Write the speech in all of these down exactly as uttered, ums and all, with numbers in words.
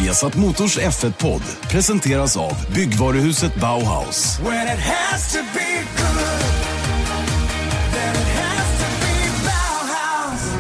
Viasat Motors F ett-podd presenteras av byggvaruhuset Bauhaus. When it has to be good, then it has to be Bauhaus.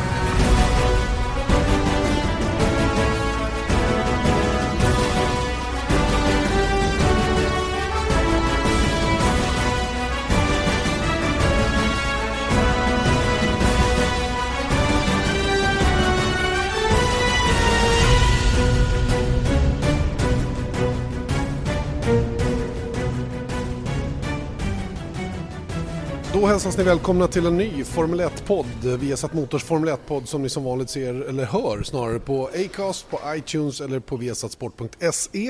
Då hälsas ni välkomna till en ny Formel ett-podd. Viasat Motors Formel ett-podd som ni som vanligt ser eller hör snarare på Acast, på iTunes eller på viasatsport punkt se.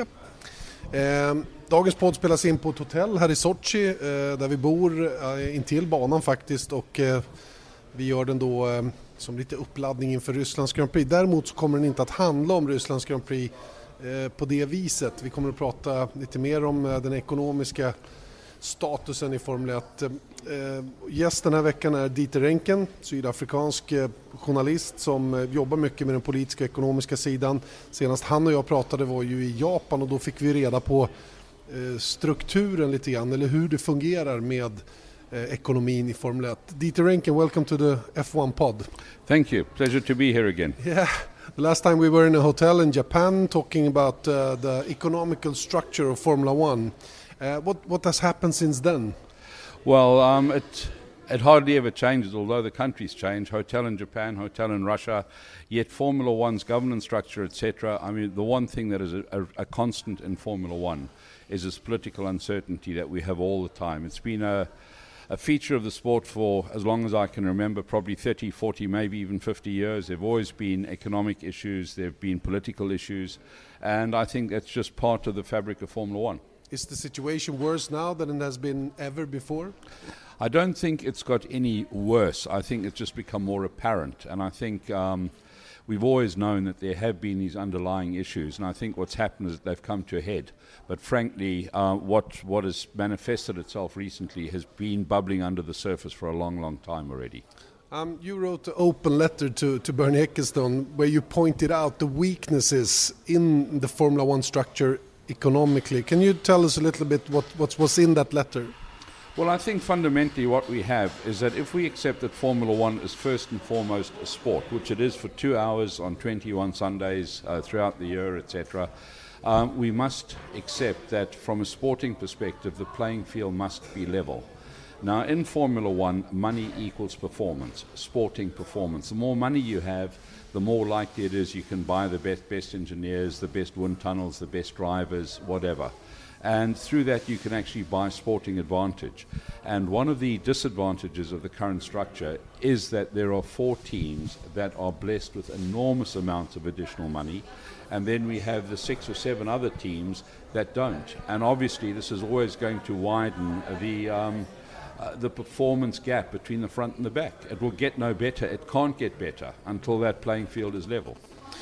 Eh, dagens podd spelas in på ett hotell här i Sochi eh, där vi bor eh, intill banan faktiskt, och eh, vi gör den då eh, som lite uppladdning inför Rysslands Grand Prix. Däremot så kommer den inte att handla om Rysslands Grand Prix eh, på det viset. Vi kommer att prata lite mer om eh, den ekonomiska statusen i Formel ett. Eh, gäst den här veckan är Dieter Renken, sydafrikansk eh, journalist som eh, jobbar mycket med den politiska och ekonomiska sidan. Senast han och jag pratade var ju i Japan, och då fick vi reda på eh, strukturen lite grann, eller hur det fungerar med eh, ekonomin i Formel ett. Dieter Renken, welcome to the F one pod. Thank you. Pleasure to be here again. Yeah. The last time we were in a hotel in Japan talking about uh, the economical structure of Formula One. Uh, what what has happened since then? Well, um, it it hardly ever changes, although the countries change. Hotel in Japan, hotel in Russia, yet Formula One's governance structure, et cetera. I mean, the one thing that is a, a, a constant in Formula One is this political uncertainty that we have all the time. It's been a a feature of the sport for as long as I can remember, probably thirty, forty, maybe even fifty years. There have always been economic issues, there have been political issues, and I think that's just part of the fabric of Formula One. Is the situation worse now than it has been ever before? I don't think it's got any worse. I think it's just become more apparent. And I think um, we've always known that there have been these underlying issues. And I think what's happened is that they've come to a head. But frankly, uh, what, what has manifested itself recently has been bubbling under the surface for a long, long time already. Um, you wrote an open letter to, to Bernie Ecclestone where you pointed out the weaknesses in the Formula One structure economically. Can you tell us a little bit what, what was in that letter? Well, I think fundamentally what we have is that if we accept that Formula One is first and foremost a sport, which it is for two hours on twenty-one Sundays uh, throughout the year, et cetera, um, we must accept that from a sporting perspective, the playing field must be level. Now, in Formula One, money equals performance, sporting performance. The more money you have, the more likely it is you can buy the best, best engineers, the best wind tunnels, the best drivers, whatever. And through that you can actually buy sporting advantage. And one of the disadvantages of the current structure is that there are four teams that are blessed with enormous amounts of additional money, and then we have the six or seven other teams that don't. And obviously this is always going to widen the um, Uh, the performance gap between the front and the back. It will get no better. It can't get better until that playing field is level.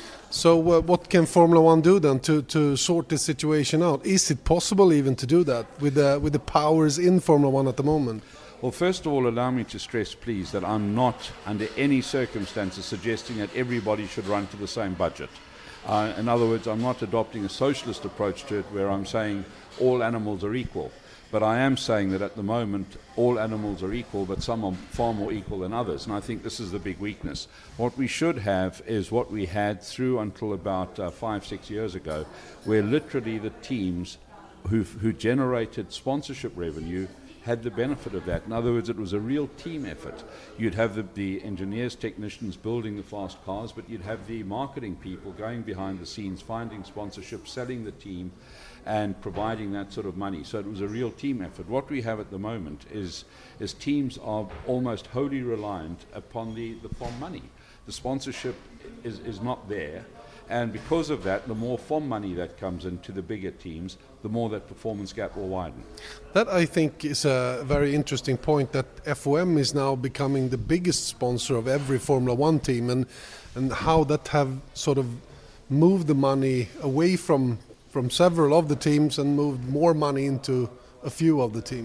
So uh, what can Formula One do then to, to sort this situation out? Is it possible even to do that with the, with the powers in Formula One at the moment? Well, first of all, allow me to stress, please, that I'm not under any circumstances suggesting that everybody should run to the same budget. Uh, in other words, I'm not adopting a socialist approach to it where I'm saying all animals are equal. But I am saying that at the moment all animals are equal, but some are far more equal than others, and I think this is the big weakness. What we should have is what we had through until about uh, five, six years ago, where literally the teams who who generated sponsorship revenue had the benefit of that. In other words, it was a real team effort. You'd have the, the engineers, technicians building the fast cars, but you'd have the marketing people going behind the scenes, finding sponsorship, selling the team, and providing that sort of money. So it was a real team effort. What we have at the moment is, is teams are almost wholly reliant upon the, the F O M money. The sponsorship is, is not there. And because of that, the more F O M money that comes into the bigger teams, the more that performance gap will widen. That, I think, is a very interesting point, that F O M is now becoming the biggest sponsor of every Formula One team, and, and how that have sort of moved the money away from, from several of the teams and moved more money into a few of the teams.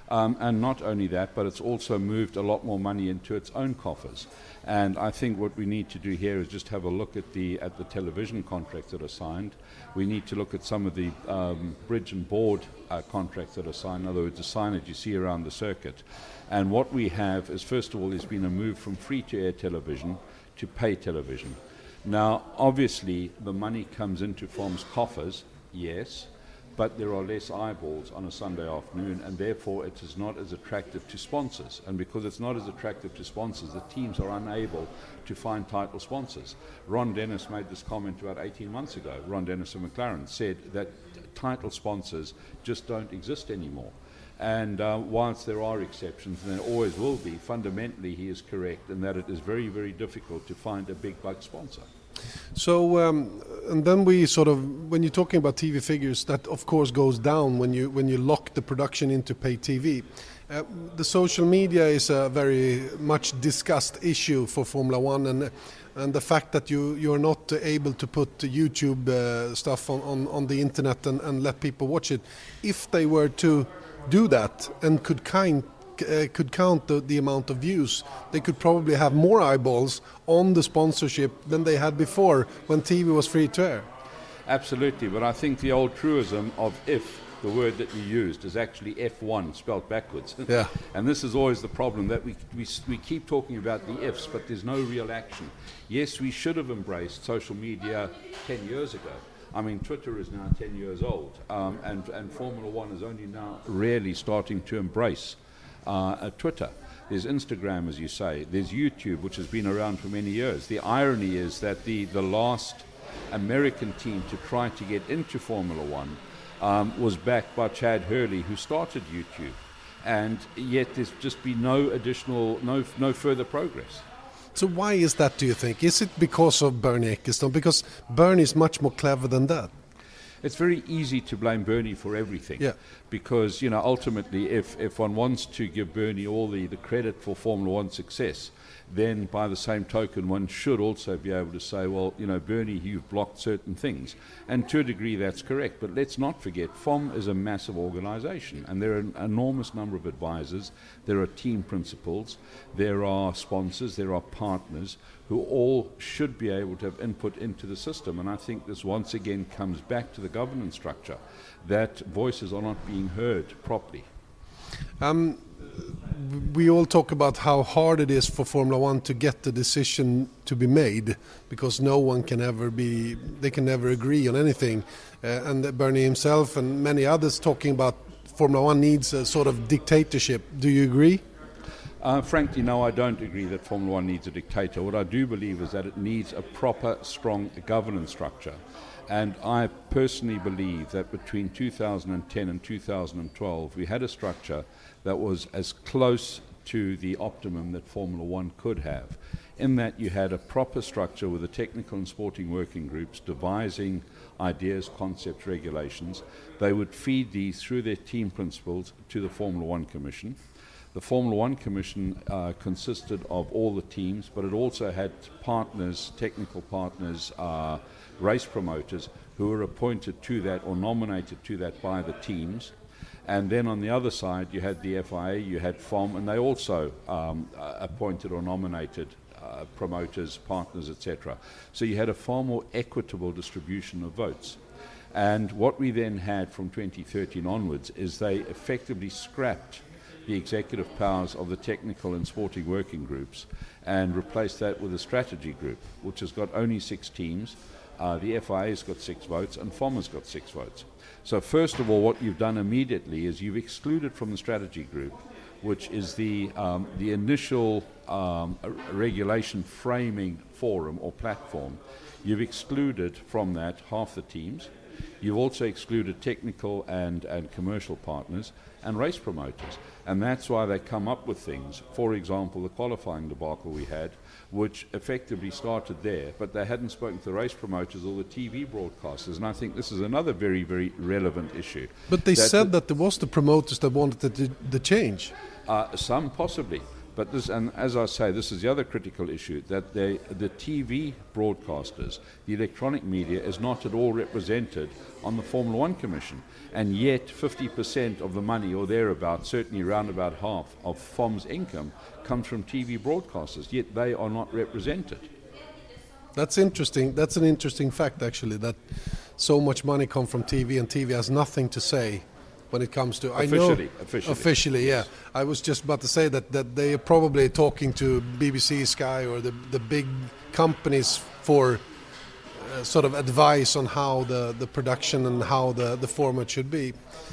Um, and not only that, but it's also moved a lot more money into its own coffers. And I think what we need to do here is just have a look at the at the television contracts that are signed. We need to look at some of the um, bridge and board uh, contracts that are signed, in other words, the signage you see around the circuit. And what we have is, first of all, there's been a move from free-to-air television to pay television. Now, obviously, the money comes into Form's coffers, yes, but there are less eyeballs on a Sunday afternoon, and therefore it is not as attractive to sponsors. And because it's not as attractive to sponsors, the teams are unable to find title sponsors. Ron Dennis made this comment about eighteen months ago. Ron Dennis of McLaren said that title sponsors just don't exist anymore. And uh, whilst there are exceptions, and there always will be, fundamentally he is correct in that it is very, very difficult to find a big buck sponsor. So, um, and then we sort of, when you're talking about T V figures, that of course goes down when you when you lock the production into pay T V. Uh, the social media is a very much discussed issue for Formula One, and and the fact that you you're not able to put YouTube uh, stuff on, on, on the internet and, and let people watch it. If they were to do that and could kind Uh, could count the, the amount of views, they could probably have more eyeballs on the sponsorship than they had before when T V was free to air. Absolutely, but I think the old truism of if, the word that you used, is actually F one spelled backwards. Yeah. And this is always the problem, that we, we we keep talking about the ifs, but there's no real action. Yes, we should have embraced social media ten years ago. I mean, Twitter is now ten years old, um, and, and Formula One is only now really starting to embrace Uh, at Twitter. There's Instagram, as you say. There's YouTube, which has been around for many years. The irony is that the, the last American team to try to get into Formula One um, was backed by Chad Hurley, who started YouTube. And yet there's just been no additional, no, no further progress. So why is that, do you think? Is it because of Bernie Ecclestone? Because Bernie is much more clever than that. It's very easy to blame Bernie for everything, yeah. because, you know, ultimately, if, if one wants to give Bernie all the, the credit for Formula One success, then by the same token, one should also be able to say, well, you know, Bernie, you've blocked certain things. And to a degree, that's correct. But let's not forget, F O M is a massive organization, and there are an enormous number of advisors, there are team principals, there are sponsors, there are partners who all should be able to have input into the system. And I think this once again comes back to the governance structure, that voices are not being heard properly. Um, we all talk about how hard it is for Formula One to get the decision to be made, because no one can ever be, they can never agree on anything. Uh, and Bernie himself and many others talking about Formula One needs a sort of dictatorship. Do you agree? Uh, frankly, no, I don't agree that Formula One needs a dictator. What I do believe is that it needs a proper, strong governance structure. And I personally believe that between two thousand ten and two thousand twelve, we had a structure that was as close to the optimum that Formula One could have, in that you had a proper structure with the technical and sporting working groups devising ideas, concepts, regulations. They would feed these through their team principals to the Formula One Commission. The Formula One Commission uh, consisted of all the teams, but it also had partners, technical partners, uh, race promoters who were appointed to that or nominated to that by the teams. And then on the other side, you had the F I A, you had F O M, and they also um, uh, appointed or nominated uh, promoters, partners, et cetera. So you had a far more equitable distribution of votes. And what we then had from twenty thirteen onwards is they effectively scrapped the executive powers of the technical and sporting working groups and replaced that with a strategy group, which has got only six teams. Uh, the F I A's got six votes and F O M has got six votes. So first of all, what you've done immediately is you've excluded from the strategy group, which is the, um, the initial um, regulation framing forum or platform, you've excluded from that half the teams. You've also excluded technical and, and commercial partners and race promoters. And that's why they come up with things. For example, the qualifying debacle we had, which effectively started there, but they hadn't spoken to the race promoters or the T V broadcasters. And I think this is another very, very relevant issue. But they that said that there was the promoters that wanted the, the change. Uh, some possibly. But this, and as I say, this is the other critical issue, that they, the T V broadcasters, the electronic media, is not at all represented on the Formula One Commission. And yet fifty percent of the money, or thereabouts, certainly around about half of F O M's income, comes from T V broadcasters, yet they are not represented. That's interesting. That's an interesting fact, actually, that so much money comes from T V, and T V has nothing to say when it comes to... Officially, I know, officially. Officially, Yes. yeah. I was just about to say that, that they are probably talking to B B C, Sky, or the, the big companies for uh, sort of advice on how the, the production and how the, the format should be.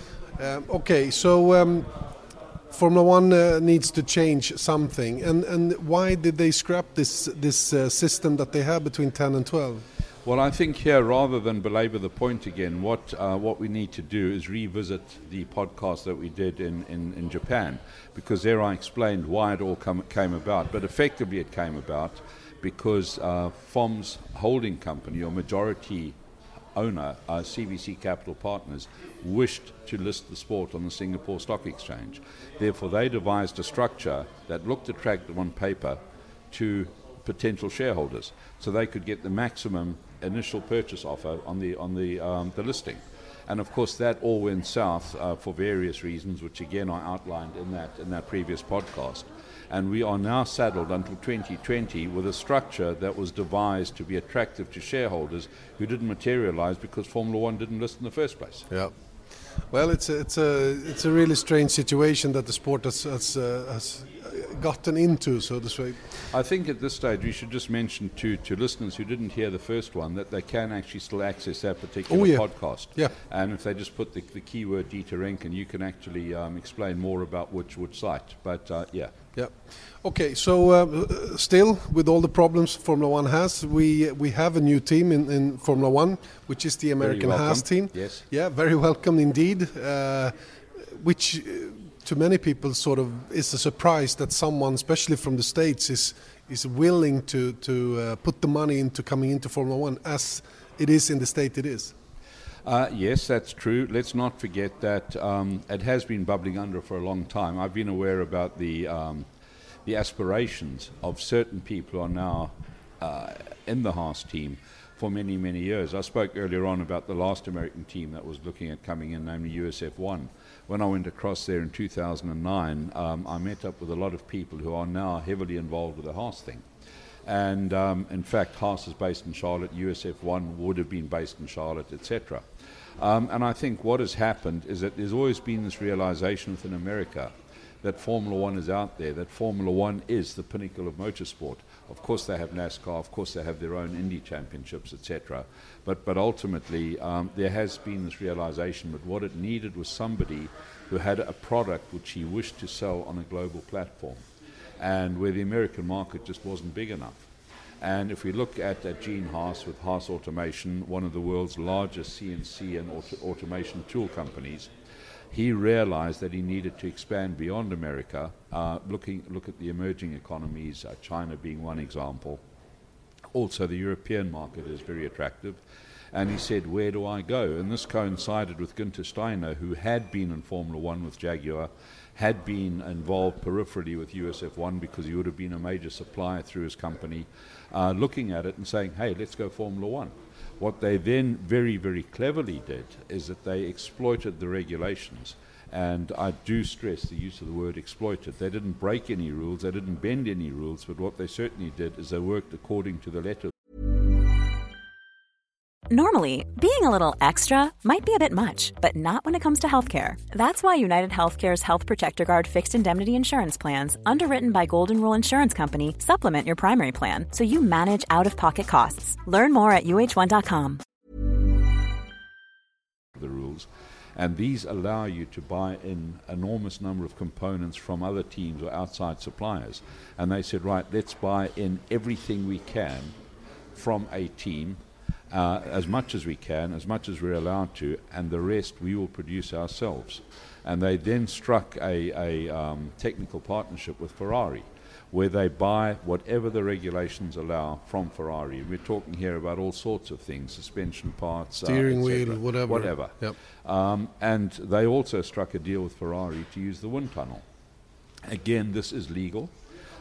Um, okay, so... Um, Formula One uh, needs to change something, and and why did they scrap this this uh, system that they have between ten and twelve? Well, I think here, rather than belabor the point again, what uh, what we need to do is revisit the podcast that we did in, in, in Japan, because there I explained why it all come, came about. But effectively it came about because uh, F O M's holding company, or majority owner, uh, C V C Capital Partners, wished to list the sport on the Singapore Stock Exchange. Therefore, they devised a structure that looked attractive on paper to potential shareholders, so they could get the maximum initial purchase offer on the on the um, the listing. And of course, that all went south uh, for various reasons, which again I outlined in that in that previous podcast. And we are now saddled until twenty twenty with a structure that was devised to be attractive to shareholders who didn't materialize because Formula One didn't list in the first place. Yeah. Well, it's a, it's a it's a really strange situation that the sport has has, uh, has gotten into, so to speak. I think at this stage we should just mention to, to listeners who didn't hear the first one that they can actually still access that particular oh, yeah. podcast. Yeah. And if they just put the, the keyword Dieter Renken, you can actually um, explain more about which which site. But uh, yeah. Yeah. Okay. So uh, still, with all the problems Formula One has, we we have a new team in, in Formula One, which is the American Haas team. Yes. Yeah. Very welcome indeed. Uh, which uh, to many people sort of is a surprise that someone, especially from the States, is is willing to to uh, put the money into coming into Formula One, as it is in the state it is. Uh, yes, that's true. Let's not forget that um, it has been bubbling under for a long time. I've been aware about the um, the aspirations of certain people who are now uh, in the Haas team for many, many years. I spoke earlier on about the last American team that was looking at coming in, namely U S F one. When I went across there in two thousand nine, um, I met up with a lot of people who are now heavily involved with the Haas thing. And um, in fact, Haas is based in Charlotte, U S F one would have been based in Charlotte, et cetera. Um, and I think what has happened is that there's always been this realization within America that Formula One is out there, that Formula One is the pinnacle of motorsport. Of course they have NASCAR, of course they have their own Indy championships, et cetera. But, but ultimately um, there has been this realization that what it needed was somebody who had a product which he wished to sell on a global platform, and where the American market just wasn't big enough. And if we look at, at Gene Haas with Haas Automation, one of the world's largest C N C and auto- automation tool companies, he realized that he needed to expand beyond America, uh, looking look at the emerging economies, uh, China being one example. Also, the European market is very attractive. And he said, where do I go? And this coincided with Günther Steiner, who had been in Formula One with Jaguar, had been involved peripherally with U S F one because he would have been a major supplier through his company, uh, looking at it and saying, hey, let's go Formula One. What they then very, very cleverly did is that they exploited the regulations. And I do stress the use of the word exploited. They didn't break any rules, they didn't bend any rules, but what they certainly did is they worked according to the letter. Normally, being a little extra might be a bit much, but not when it comes to healthcare. That's why United Healthcare's Health Protector Guard fixed indemnity insurance plans, underwritten by Golden Rule Insurance Company, supplement your primary plan so you manage out-of-pocket costs. Learn more at U H one dot com. The rules, and these allow you to buy in enormous number of components from other teams or outside suppliers. And they said, right, let's buy in everything we can from a team, Uh, as much as we can, as much as we're allowed to, and the rest we will produce ourselves. And they then struck a, a um, technical partnership with Ferrari, where they buy whatever the regulations allow from Ferrari. We're talking here about all sorts of things, suspension parts, steering uh, wheel, whatever. whatever. Yep. Um, and they also struck a deal with Ferrari to use the wind tunnel. Again, this is legal.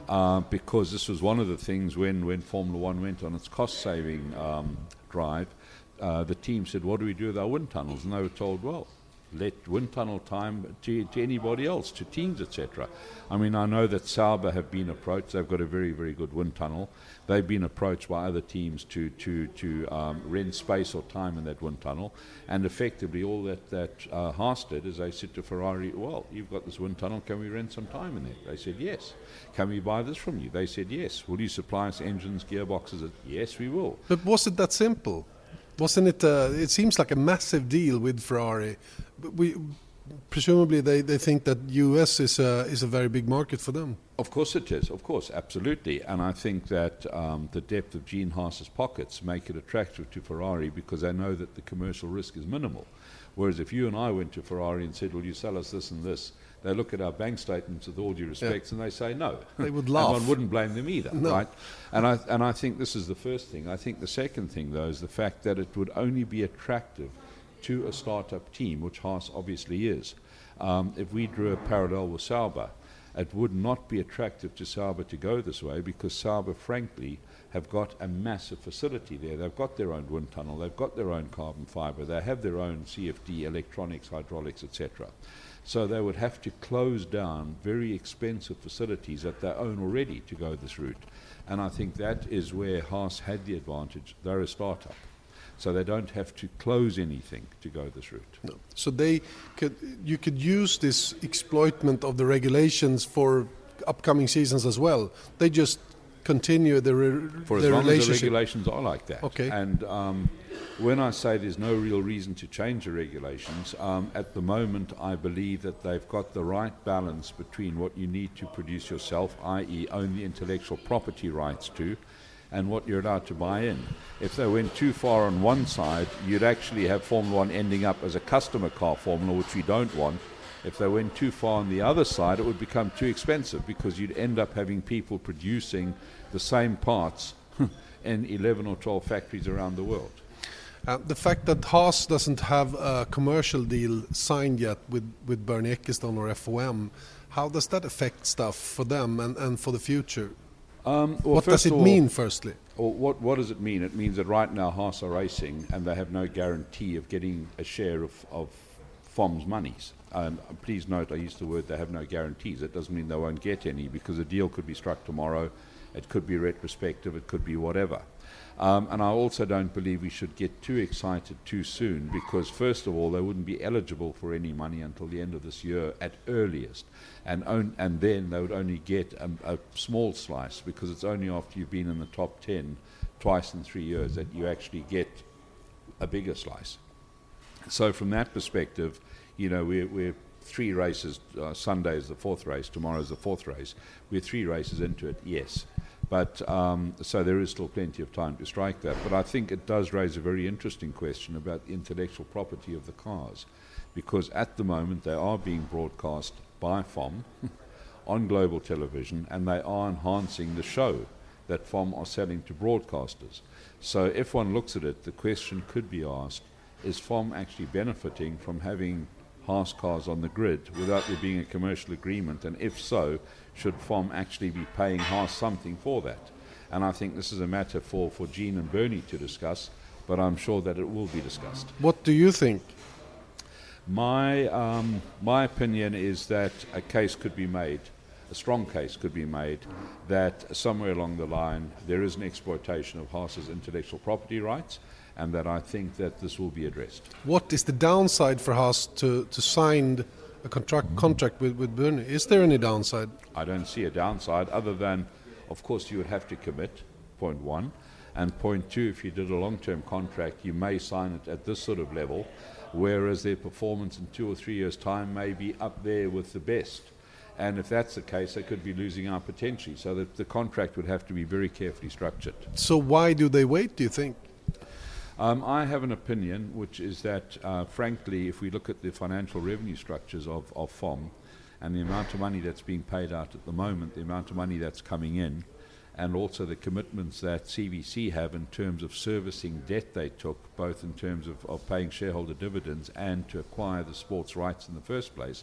uh, because this was one of the things when, when Formula One went on its cost-saving um, drive, uh, the team said, what do we do with our wind tunnels? And they were told, well, let wind tunnel time to, to anybody else, to teams, et cetera. I mean, I know that Sauber have been approached. They've got a very, very good wind tunnel. They've been approached by other teams to to to um, rent space or time in that wind tunnel. And effectively, all that that uh, Haas did is they said to Ferrari, "Well, you've got this wind tunnel. Can we rent some time in there?" They said, "Yes." "Can we buy this from you?" They said, "Yes." "Will you supply us engines, gearboxes?" "Yes, we will." But was it that simple? Wasn't it? Uh, it seems like a massive deal with Ferrari. But we presumably they, they think that U S is a is a very big market for them. Of course it is. Of course, absolutely. And I think that um, the depth of Gene Haas's pockets make it attractive to Ferrari because they know that the commercial risk is minimal. Whereas if you and I went to Ferrari and said, "Will you sell us this and this?" they look at our bank statements with all due respect, yeah. and they say no. They would laugh. And one wouldn't blame them either, no. right? And I and I think this is the first thing. I think the second thing, though, is the fact that it would only be attractive to a startup team, which Haas obviously is. Um, if we drew a parallel with Sauber, it would not be attractive to Sauber to go this way because Sauber, frankly, have got a massive facility there. They've got their own wind tunnel, they've got their own carbon fibre, they have their own C F D, electronics, hydraulics, et cetera. So they would have to close down very expensive facilities that they own already to go this route. And I think that is where Haas had the advantage. They're a startup. So they don't have to close anything to go this route. No. So they could, you could use this exploitment of the regulations for upcoming seasons as well. They just continue the, re- for as the long relationship. as the regulations are like that. Okay. And um, when I say there's no real reason to change the regulations, um, at the moment I believe that they've got the right balance between what you need to produce yourself, that is own the intellectual property rights to, and what you're allowed to buy in. If they went too far on one side, you'd actually have Formula One ending up as a customer car formula, which we don't want. If they went too far on the other side, it would become too expensive because you'd end up having people producing the same parts in eleven or twelve factories around the world. Uh, the fact that Haas doesn't have a commercial deal signed yet with, with Bernie Ecclestone or F O M, how does that affect stuff for them and, and for the future? Um, well, what does it all, mean, firstly? Or what, what does it mean? It means that right now Haas are racing and they have no guarantee of getting a share of, of F O M's monies. And please note, I used the word they have no guarantees. It doesn't mean they won't get any because a deal could be struck tomorrow. It could be retrospective. It could be whatever. Um, and I also don't believe we should get too excited too soon because, first of all, they wouldn't be eligible for any money until the end of this year at earliest. And on, and then they would only get a, a small slice because it's only after you've been in the top ten twice in three years that you actually get a bigger slice. So from that perspective, you know, we're, we're three races. Uh, Sunday is the fourth race. Tomorrow is the fourth race. We're three races into it, yes. But um, so there is still plenty of time to strike that. But I think it does raise a very interesting question about the intellectual property of the cars, because at the moment they are being broadcast by F O M on global television, and they are enhancing the show that F O M are selling to broadcasters. So if one looks at it, the question could be asked, is F O M actually benefiting from having Haas cars on the grid without there being a commercial agreement? And if so, should F O M actually be paying Haas something for that? And I think this is a matter for, for Gene and Bernie to discuss, but I'm sure that it will be discussed. What do you think? My, um, my opinion is that a case could be made, a strong case could be made, that somewhere along the line there is an exploitation of Haas's intellectual property rights, and that I think that this will be addressed. What is the downside for Haas to, to sign a contract contract with, with Bernie? Is there any downside? I don't see a downside other than, of course, you would have to commit, point one. And point two, if you did a long-term contract, you may sign it at this sort of level, whereas their performance in two or three years' time may be up there with the best. And if that's the case, they could be losing out potentially. So that the contract would have to be very carefully structured. So why do they wait, do you think? Um, I have an opinion, which is that, uh, frankly, if we look at the financial revenue structures of, of F O M and the amount of money that's being paid out at the moment, the amount of money that's coming in, and also the commitments that C V C have in terms of servicing debt they took, both in terms of, of paying shareholder dividends and to acquire the sports rights in the first place,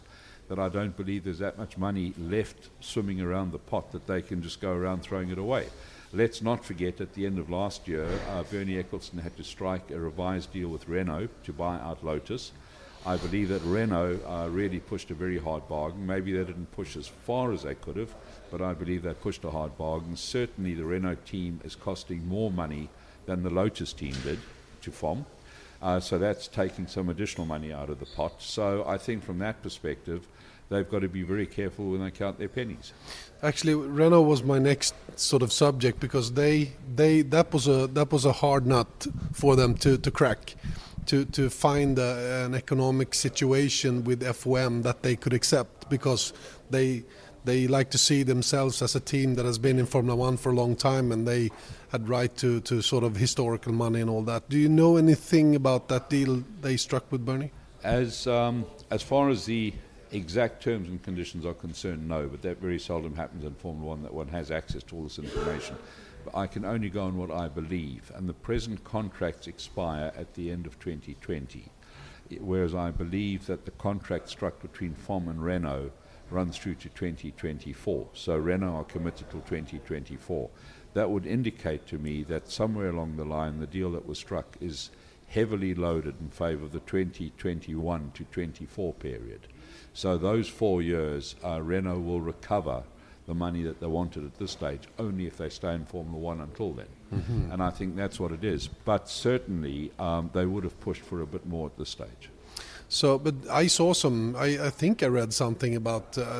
that I don't believe there's that much money left swimming around the pot that they can just go around throwing it away. Let's not forget, at the end of last year, uh, Bernie Ecclestone had to strike a revised deal with Renault to buy out Lotus. I believe that Renault uh, really pushed a very hard bargain. Maybe they didn't push as far as they could have, but I believe they pushed a hard bargain. Certainly the Renault team is costing more money than the Lotus team did to F O M. Uh, so that's taking some additional money out of the pot. So I think from that perspective, they've got to be very careful when they count their pennies. Actually, Renault was my next sort of subject, because they they that was a that was a hard nut for them to, to crack, to to find a, an economic situation with F O M that they could accept, because they they like to see themselves as a team that has been in Formula One for a long time, and they had right to, to sort of historical money and all that. Do you know anything about that deal they struck with Bernie? As um, as far as the exact terms and conditions are concerned, no, but that very seldom happens in Formula One, that one has access to all this information. But I can only go on what I believe, and the present contracts expire at the end of twenty twenty, whereas I believe that the contract struck between F O M and Renault runs through to twenty twenty-four. So Renault are committed till twenty twenty-four. That would indicate to me that somewhere along the line the deal that was struck is heavily loaded in favour of the twenty twenty-one to twenty-four period. So those four years, uh, Renault will recover the money that they wanted at this stage only if they stay in Formula One until then. Mm-hmm. And I think that's what it is. But certainly um, they would have pushed for a bit more at this stage. So, but I saw some, I, I think I read something about uh,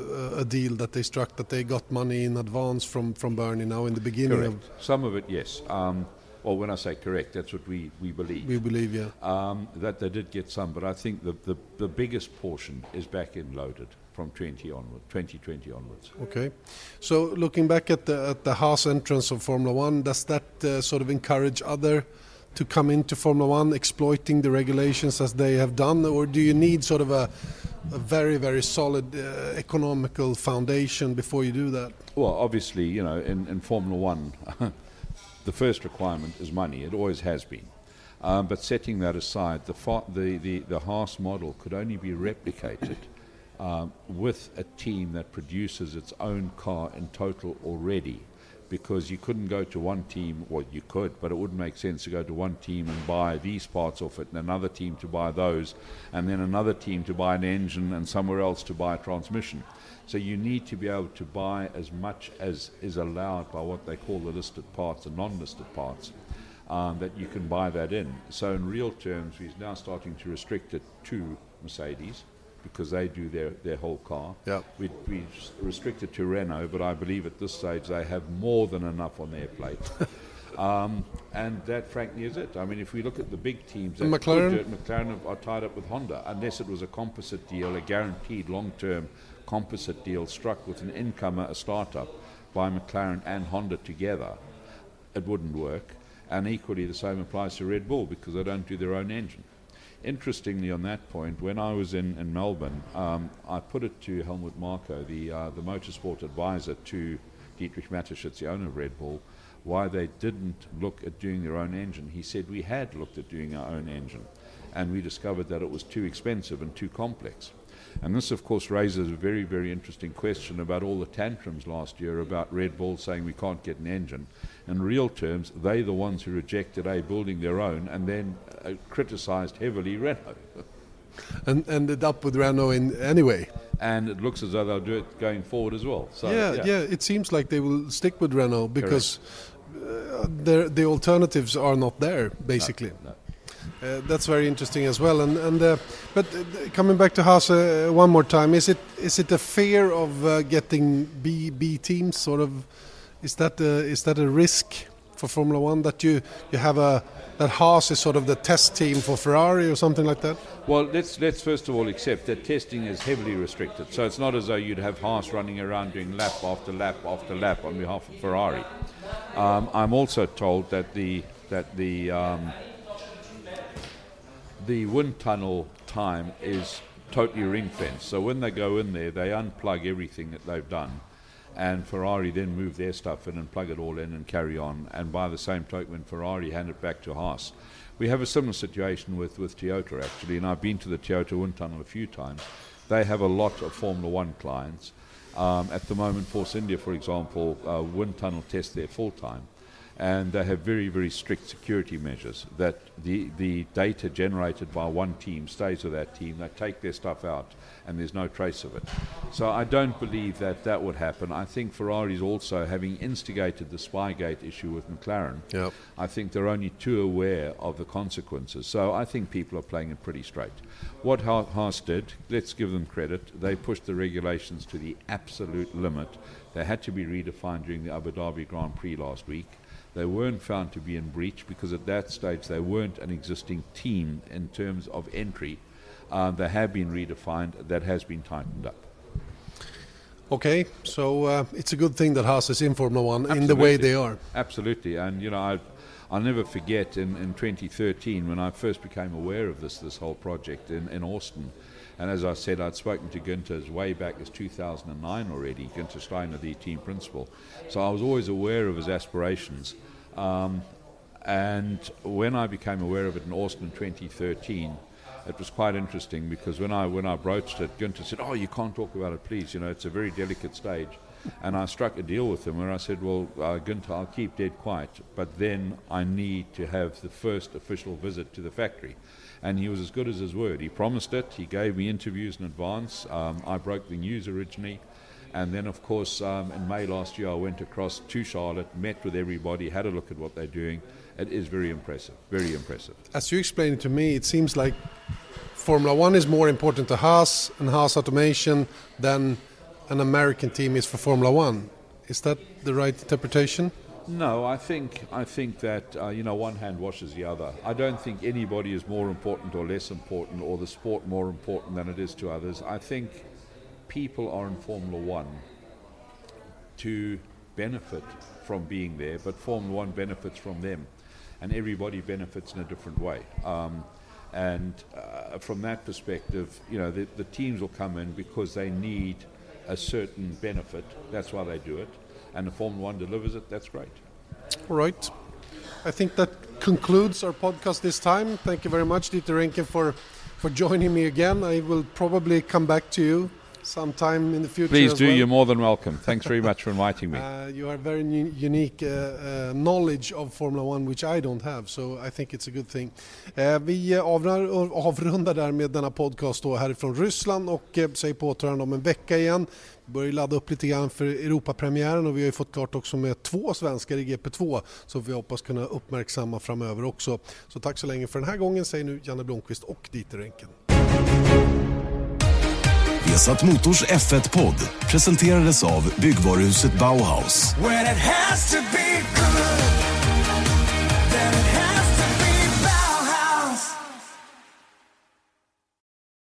a deal that they struck, that they got money in advance from, from Bernie now in the beginning. Correct. Of Some of it, yes. Um, well, when I say correct, that's what we, we believe. We believe, yeah. Um, that they did get some, but I think the, the, the biggest portion is back end loaded from twenty onward, twenty twenty onwards. Okay. So looking back at the, at the Haas entrance of Formula One, does that uh, sort of encourage other to come into Formula One, exploiting the regulations as they have done, or do you need sort of a, a very, very solid uh, economical foundation before you do that? Well, obviously, you know, in, in Formula One, the first requirement is money. It always has been. Um, but setting that aside, the, fa- the, the, the Haas model could only be replicated um, with a team that produces its own car in total already. Because you couldn't go to one team, well you could, but it wouldn't make sense to go to one team and buy these parts off it, and another team to buy those, and then another team to buy an engine, and somewhere else to buy a transmission. So you need to be able to buy as much as is allowed by what they call the listed parts and non-listed parts, um, that you can buy that in. So in real terms, we're now starting to restrict it to Mercedes, because they do their, their whole car. Yep. We, we restrict it to Renault, but I believe at this stage they have more than enough on their plate. um, and that, frankly, is it. I mean, if we look at the big teams, that McLaren? could do it, McLaren are tied up with Honda, unless it was a composite deal, a guaranteed long-term composite deal struck with an incomer, a startup, by McLaren and Honda together. It wouldn't work. And equally, the same applies to Red Bull, because they don't do their own engine. Interestingly, on that point, when I was in, in Melbourne, um, I put it to Helmut Marko, the uh, the motorsport advisor to Dietrich Mateschitz, the owner of Red Bull, why they didn't look at doing their own engine. He said, we had looked at doing our own engine, and we discovered that it was too expensive and too complex. And this, of course, raises a very, very interesting question about all the tantrums last year about Red Bull saying we can't get an engine. In real terms, they're the ones who rejected A, building their own, and then uh, criticised heavily Renault. And ended up with Renault in anyway. And it looks as though they'll do it going forward as well. So, yeah, yeah, yeah, it seems like they will stick with Renault, because uh, the alternatives are not there, basically. No, no. Uh, that's very interesting as well. And, and uh, but uh, coming back to Haas uh, one more time, is it is it a fear of uh, getting B B teams? Sort of, is that uh, is that a risk for Formula One, that you you have a that Haas is sort of the test team for Ferrari or something like that? Well, let's let's first of all accept that testing is heavily restricted. So it's not as though you'd have Haas running around doing lap after lap after lap on behalf of Ferrari. Um, I'm also told that the that the um, the wind tunnel time is totally ring-fenced. So when they go in there, they unplug everything that they've done, and Ferrari then move their stuff in and plug it all in and carry on. And by the same token, when Ferrari hand it back to Haas. We have a similar situation with, with Toyota, actually, and I've been to the Toyota wind tunnel a few times. they have a lot of Formula One clients. Um, at the moment, Force India, for example, uh, wind tunnel test there full time. And they have very, very strict security measures that the, the data generated by one team stays with that team. They take their stuff out and there's no trace of it. So I don't believe that that would happen. I think Ferrari's also, having instigated the Spygate issue with McLaren, Yep. I think they're only too aware of the consequences. So I think people are playing it pretty straight. What Ha- Haas did, let's give them credit, they pushed the regulations to the absolute limit. They had to be redefined during the Abu Dhabi Grand Prix last week. They weren't found to be in breach because at that stage they weren't an existing team in terms of entry. Uh, they have been redefined. That has been tightened up. Okay, so uh, it's a good thing that Haas is in Formula One Absolutely. in the way they are. Absolutely. And, you know, I, I'll never forget in, in twenty thirteen when I first became aware of this, this whole project in, in Austin. And as I said, I'd spoken to Günther way back as two thousand nine already, Günther Steiner, the team principal. So I was always aware of his aspirations. Um, and when I became aware of it in Austin in twenty thirteen, it was quite interesting because when I when I broached it, Günther said, "Oh, you can't talk about it, please. You know, it's a very delicate stage." And I struck a deal with him where I said, "Well, uh, Günther, I'll keep dead quiet, but then I need to have the first official visit to the factory." And he was as good as his word. He promised it. He gave me interviews in advance. Um, I broke the news originally. And then, of course, um, in May last year, I went across to Charlotte, met with everybody, had a look at what they're doing. It is very impressive, very impressive. As you explained it to me, it seems like Formula One is more important to Haas and Haas Automation than an American team is for Formula One. Is that the right interpretation? No, I think I think that uh, you know, one hand washes the other. I don't think anybody is more important or less important, or the sport more important than it is to others. I think people are in Formula One to benefit from being there, but Formula One benefits from them, and everybody benefits in a different way. Um, and uh, from that perspective, you know, the, the teams will come in because they need a certain benefit. That's why they do it. And if Formula One delivers it, that's great. All right. I think that concludes our podcast this time. Thank you very much, Dieter Renken, for, for joining me again. I will probably come back to you sometime in the future. Please as do. well. You're more than welcome. Thanks very much for inviting me. Uh, you have very u- unique uh, uh, knowledge of Formula One, which I don't have, so I think it's a good thing. Uh, vi uh, avrundar, avrundar där med denna podcast då härifrån Ryssland och uh, säger på återhörande om en vecka igen. Vi börjar ladda upp lite grann för Europapremiären och vi har ju fått klart också med två svenskar i G P två, så vi hoppas kunna uppmärksamma framöver också. Så tack så länge för den här gången, säger nu Janne Blomqvist och Dieter Renken. Vesat Motors F ett-podd presenterades av byggvaruhuset Bauhaus. When it has to be good.